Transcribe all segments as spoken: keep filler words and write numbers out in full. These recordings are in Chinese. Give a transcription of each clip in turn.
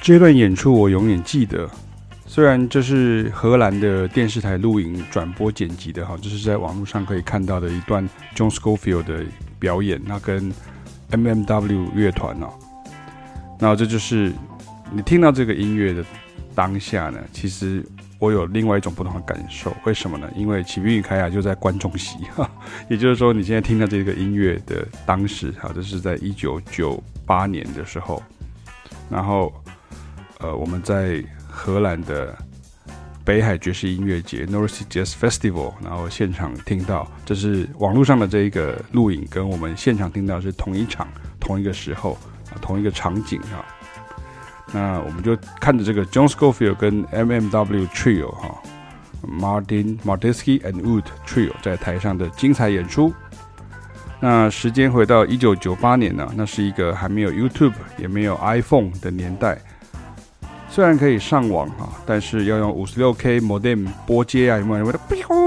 這段演出我永遠記得，雖然這是荷蘭的電視台錄影轉播剪輯的哈，這是在網絡上可以看到的一段 John Scofield 的表演，那跟 M M W 樂團哦，那這就是你聽到這個音樂的當下呢，其實我有另外一種不同的感受，為什麼呢？因為啟斌與凱雅就在觀眾席哈，也就是說你現在聽到這個音樂的當時哈，這是在一九九八年的時候，然後。呃，我們在荷蘭的北海爵士音樂節 North Sea Jazz Festival， 然後現場聽到，這是網絡上的這一個錄影，跟我們現場聽到是同一場、同一個時候、啊、同一個場景啊。那我們就看着這個 John Scofield 跟 M M W Trio 哈、啊、，Martin Martinsky and Wood Trio 在台上的精彩演出。那時間回到一九九八年呢、啊，那是一個還沒有 YouTube 也沒有 iPhone 的年代。雖然可以上網哈，但是要用 五十六K modem 撥接啊，有沒有？這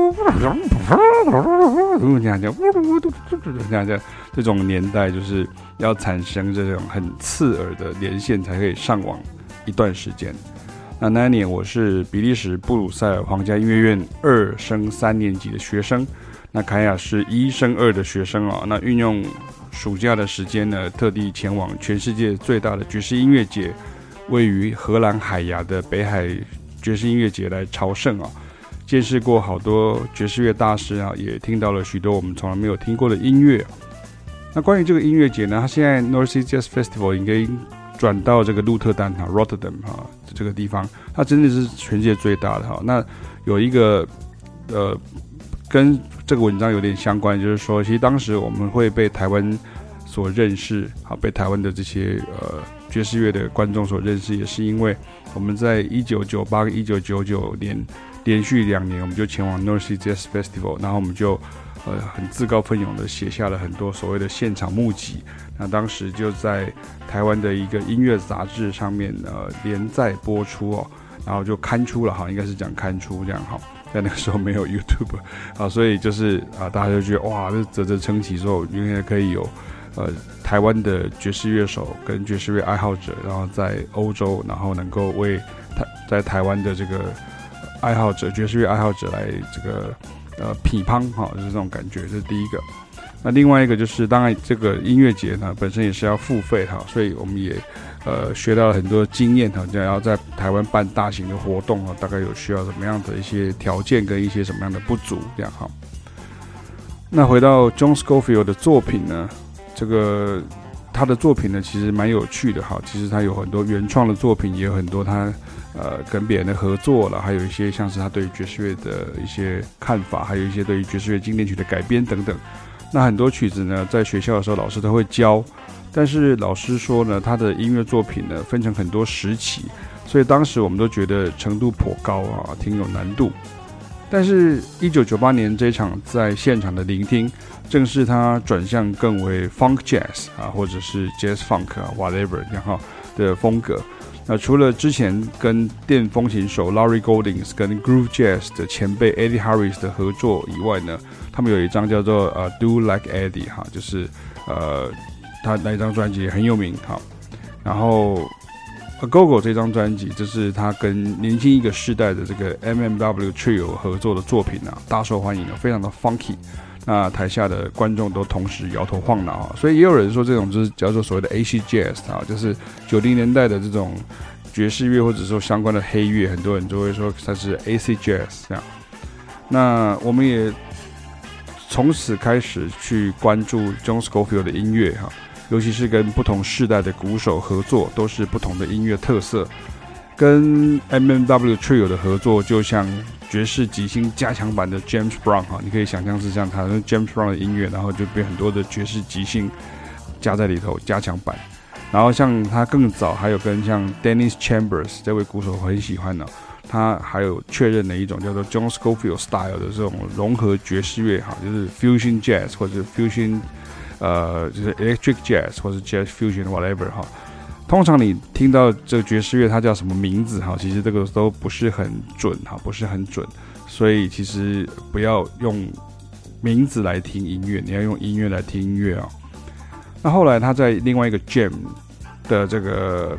樣這樣這種年代，就是要產生這種很刺耳的連線才可以上網一段時間。那那一年我是比利時布魯塞爾皇家音樂院二升三年級的學生，那凱雅是一升二的學生啊。那運用暑假的時間呢，特地前往全世界最大的爵士音樂節。位於荷蘭海牙的北海爵士音樂節來朝聖啊，見識過好多爵士樂大師啊，也聽到了許多我們從來沒有聽過的音樂。那關於這個音樂節呢，它現在 North Sea Jazz Festival 應該轉到這個鹿特丹哈 Rotterdam 哈這個地方，它真的是全世界最大的哈。那有一個呃跟這個文章有點相關，就是說，其實當時我們會被台灣所認識，好，被台灣的這些呃爵士樂的觀眾所認識，也是因為我們在一九九八跟一九九九年連續兩年，我們就前往 North Sea Jazz Festival， 然後我們就呃很自告奮勇的寫下了很多所謂的現場目擊。那當時就在台灣的一個音樂雜誌上面呃連載播出哦，然後就刊出了哈，應該是講刊出這樣哈。在那個時候沒有 YouTube 啊，所以就是啊，大家就覺得哇，這嘖嘖稱奇，說原來可以有。呃，台灣的爵士樂手跟爵士樂愛好者，然後在歐洲，然後能夠為台在台灣的這個愛好者、爵士樂愛好者來這個呃匹乓哈，就是這種感覺，這是第一個。那另外一個就是，當然這個音樂節呢本身也是要付費哈，所以我們也呃學到了很多經驗哈，然後在台灣辦大型的活動啊，大概有需要什麼樣的一些條件跟一些什麼樣的不足這樣哈。那回到 John Scofield 的作品呢？這個他的作品呢，其實蠻有趣的哈。其實他有很多原創的作品，也有很多他呃跟別人的合作了，還有一些像是他對於爵士樂的一些看法，還有一些對於爵士樂經典曲的改編等等。那很多曲子呢，在學校的時候老師都會教，但是老師說呢，他的音樂作品呢分成很多時期，所以當時我們都覺得程度頗高啊，挺有難度。但是一九九八年這一場在現場的聆聽，正是他轉向更為 funk jazz 啊，或者是 jazz funk 啊 whatever 這樣哈的風格。那除了之前跟電風琴手 Larry Goldings 跟 groove jazz 的前輩 Eddie Harris 的合作以外呢，他們有一張叫做呃 Do Like Eddie 哈，就是呃他那一張專輯也很有名哈。然後 A Go-Go 這張專輯，這是他跟年輕一個世代的這個 M M W Trio 合作的作品啊，大受歡迎，非常的 funky。那台下的觀眾都同時搖頭晃腦啊，所以也有人說這種就是叫做所謂的 Acid Jazz 啊，就是九零年代的這種爵士樂或者說相關的黑樂，很多人就會說它是 Acid Jazz 這樣。那我們也從此開始去關注 John Scofield 的音樂哈。尤其是跟不同世代的鼓手合作，都是不同的音樂特色。跟 M M W Trio 的合作，就像爵士即興加強版的 James Brown 哈，你可以想象是像他跟 James Brown 的音樂，然後就被很多的爵士即興加在裡頭，加強版。然後像他更早還有跟像 Dennis Chambers 這位鼓手我很喜歡的，他還有確認了一種叫做 John Scofield Style 的這種融合爵士樂哈，就是 Fusion Jazz 或者 Fusion。呃，就是 electric jazz 或者 jazz fusion whatever 哈，通常你聽到這個爵士樂它叫什麼名字哈，其實這個都不是很準哈，不是很準，所以其實不要用名字來聽音樂，你要用音樂來聽音樂啊。那後來他在另外一個 Jam 的這個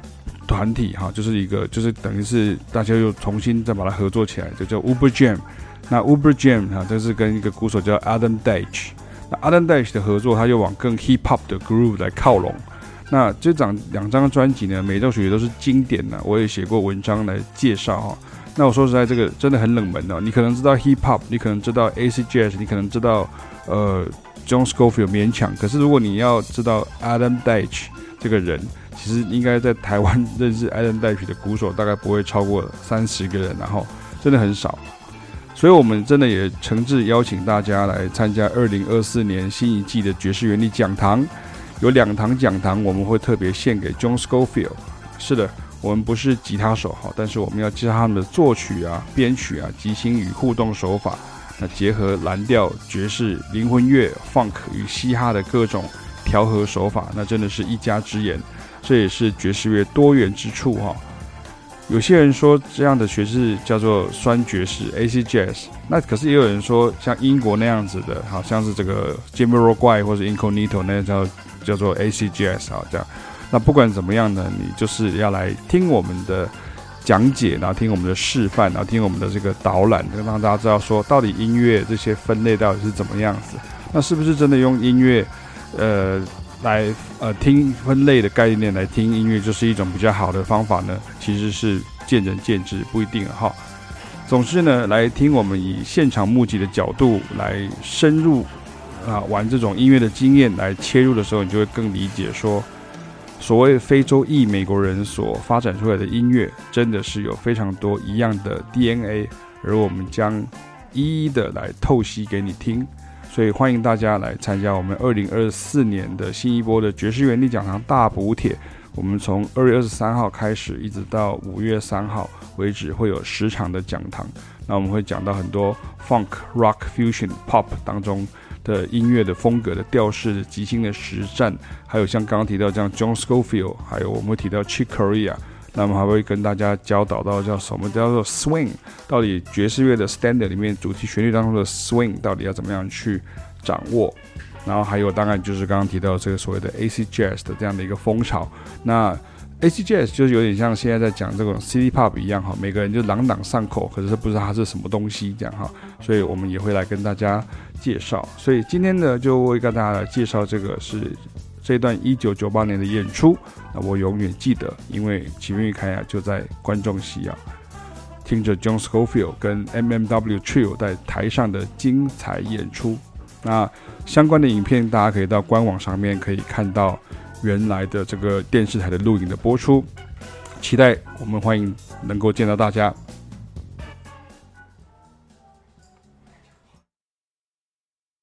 團體哈，就是一個就是等於是大家又重新再把它合作起來，就叫 Uber Jam。那 Uber Jam 哈，這是跟一個鼓手叫 Adam Deitch。那 Adam Deitch 的合作，他又往更 Hip Hop 的 Groove 來靠攏。那這張兩張專輯呢，每一首曲都是經典的，我也寫過文章來介紹哈。那我說實在，這個真的很冷門哦。你可能知道 Hip Hop， 你可能知道 Acid Jazz， 你可能知道呃 John Scofield 勉強。可是如果你要知道 Adam Deitch 這個人，其實應該在台灣認識 Adam Deitch 的鼓手大概不會超過三十個人，然後真的很少。所以我們真的也誠摯邀請大家來參加二零二四年新一季的爵士原力講堂。有兩堂講堂，我們會特別獻給 John Scofield。是的，我們不是吉他手哈，但是我們要介紹他們的作曲啊、編曲啊、即興與互動手法，那結合藍調、爵士、靈魂樂、funk 與嘻哈的各種調和手法，那真的是一家之言。這也是爵士樂多元之處哈。有些人說這樣的爵士叫做酸爵士 （Acid Jazz）， 那可是也有人說像英國那樣子的，好像是這個 Jamiroquai 或者 Incognito 那叫叫做 Acid Jazz 啊，這樣。那不管怎麼樣呢，你就是要來聽我們的講解，然後聽我們的示範，然後聽我們的這個導覽，讓大家知道說到底音樂這些分類到底是怎麼樣子。那是不是真的用音樂，呃？來呃聽分類的概念來聽音樂，就是一種比較好的方法呢？其實是見仁見智，不一定哈。總之呢，來聽我們以現場目擊的角度來深入啊玩這種音樂的經驗來切入的時候，你就會更理解說，所謂非洲裔美國人所發展出來的音樂，真的是有非常多一樣的 D N A， 而我們將一一的來透析給你聽。所以歡迎大家來參加我們二零二四年的新一波的爵士原力講堂大補帖。我們從二月二十三號開始，一直到五月三號為止，會有十場的講堂。那我們會講到很多 Funk、Rock、Fusion、Pop 當中的音樂的風格的調式的即興的實戰，還有像剛剛提到這樣 John Scofield， 還有我們會提到 Chick Corea。那我們還會跟大家教導到叫什麼叫做 swing， 到底爵士樂的 standard 裡面主題旋律當中的 swing 到底要怎麼樣去掌握，然後還有當然就是剛剛提到這個所謂的 Acid Jazz 的這樣的一個風潮。那 Acid Jazz 就是有點像現在在講這種 City Pop 一樣哈，每個人就朗朗上口，可是不知道它是什麼東西這樣哈，所以我們也會來跟大家介紹。所以今天呢，就會跟大家來介紹這個是這段一九九八年的演出，那我永遠記得，因為齊面與凱亞就在觀眾席啊，聽着 John Scofield 跟 M M W Trio 在台上的精彩演出。那相關的影片，大家可以到官網上面可以看到原來的這個電視台的錄影的播出。期待我們歡迎能夠見到大家。